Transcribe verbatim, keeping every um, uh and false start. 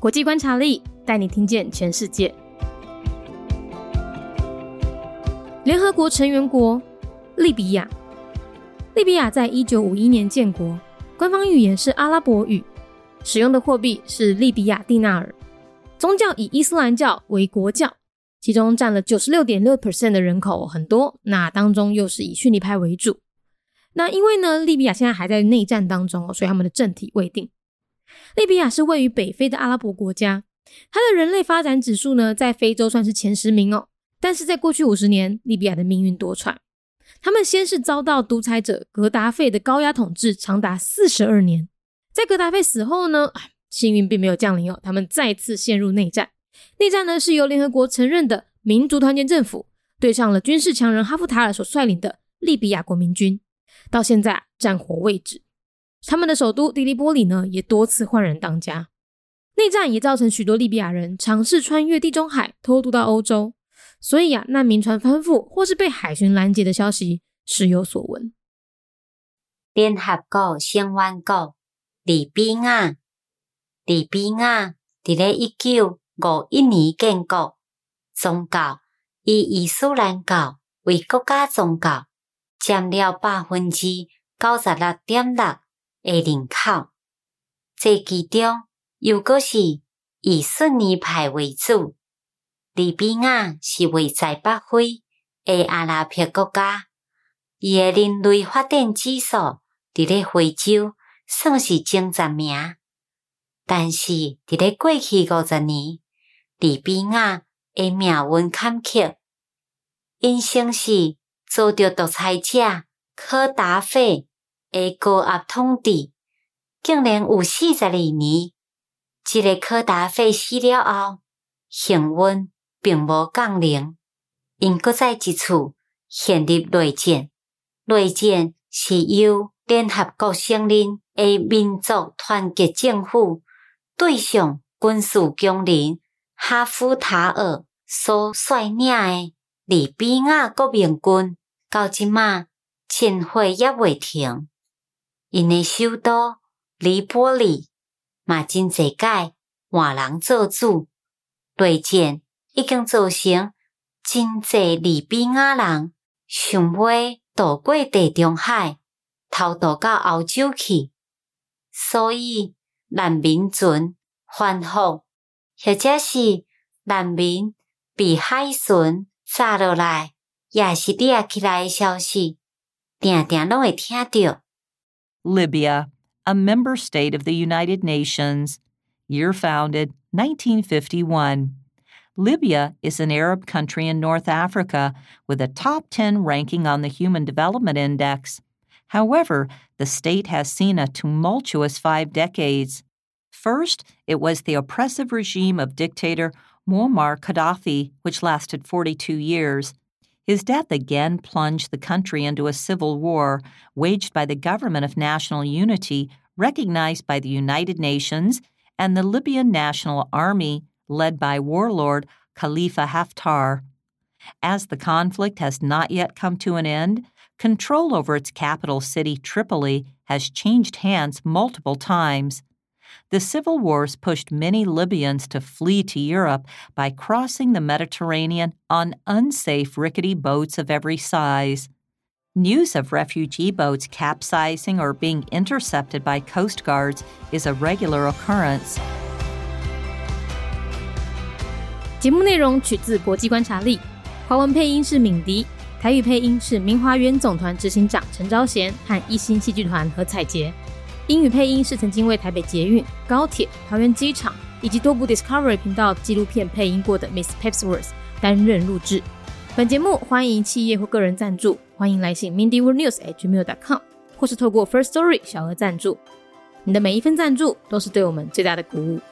国际观察力带你听见全世界。联合国成员国利比亚。利比亚在一九五一年建国，官方语言是阿拉伯语，使用的货币是利比亚蒂纳尔，宗教以伊斯兰教为国教，其中占了 百分之九十六点六 的人口，很多，那当中又是以逊尼派为主。那因为呢，利比亚现在还在内战当中，所以他们的政体未定。利比亚是位于北非的阿拉伯国家，它的人类发展指数呢，在非洲算是前十名哦。但是在过去五十年，利比亚的命运多舛。他们先是遭到独裁者格达费的高压统治长达四十二年，在格达费死后呢，幸运并没有降临哦，他们再次陷入内战。内战呢是由联合国承认的民族团结政府对上了军事强人哈夫塔尔所率领的利比亚国民军，到现在战火未止。他们的首都迪利波里呢，也多次换人当家。内战也造成许多利比亚人尝试穿越地中海偷渡到欧洲，所以啊，难民船翻覆或是被海巡拦截的消息时有所闻。 联合国成员国利比亚。利比亚伫咧一九五一年建国，宗教以伊斯兰教为国家宗教，占了 百分之九十六点六 的人口。这其中又阁是以逊尼派为主。利比亚是位在北非的阿拉伯国家，伊的人类发展指数伫咧非洲算是前十名。但是伫咧过去五十年，利比亚的命运坎坷，因先是遭到独裁者科达费的高压统治，竟然有四十二年。这个科达费死了后，幸运并无降临，因搁再一次陷入内战。内战是由联合国承认的民族团结政府对上军事强人哈夫塔尔所率领的利比亚国民军，到即马战火也未停。因的首都黎波里嘛真侪届换人做主，内战已经造成真侪利比亚人想要渡过地中海，偷渡到欧洲去，所以难民船翻覆，或者是难民被海巡炸落来，也是掠起来的消息，定定拢会听到。 Libya, a member state of the United Nations. Year founded, nineteen fifty-one. Libya is an Arab country in North Africa with a top ten ranking on the Human Development Index. However, the state has seen a tumultuous five decades. First, it was the oppressive regime of dictator Muammar Gaddafi, which lasted forty-two years. His death again plunged the country into a civil war waged by the Government of National Unity, recognized by the United Nations, and the Libyan National Army, led by warlord Khalifa Haftar. As the conflict has not yet come to an end, control over its capital city, Tripoli, has changed hands multiple times. The civil wars pushed many Libyans to flee to Europe by crossing the Mediterranean on unsafe, rickety boats of every size. News of refugee boats capsizing or being intercepted by coast guards is a regular occurrence. 节目内容取自国际观察力，华文配音是敏迪，台语配音是明华园总团执行长陈昭贤和一星戏剧团何彩杰，英语配音是曾经为台北捷运、高铁、桃园机场以及多部 Discovery 频道纪录片配音过的 Miss Pepsworth 担任录制。本节目欢迎企业或个人赞助，欢迎来信 mindy world news at gmail dot com 或是透过 First Story 小额赞助。你的每一份赞助都是对我们最大的鼓舞。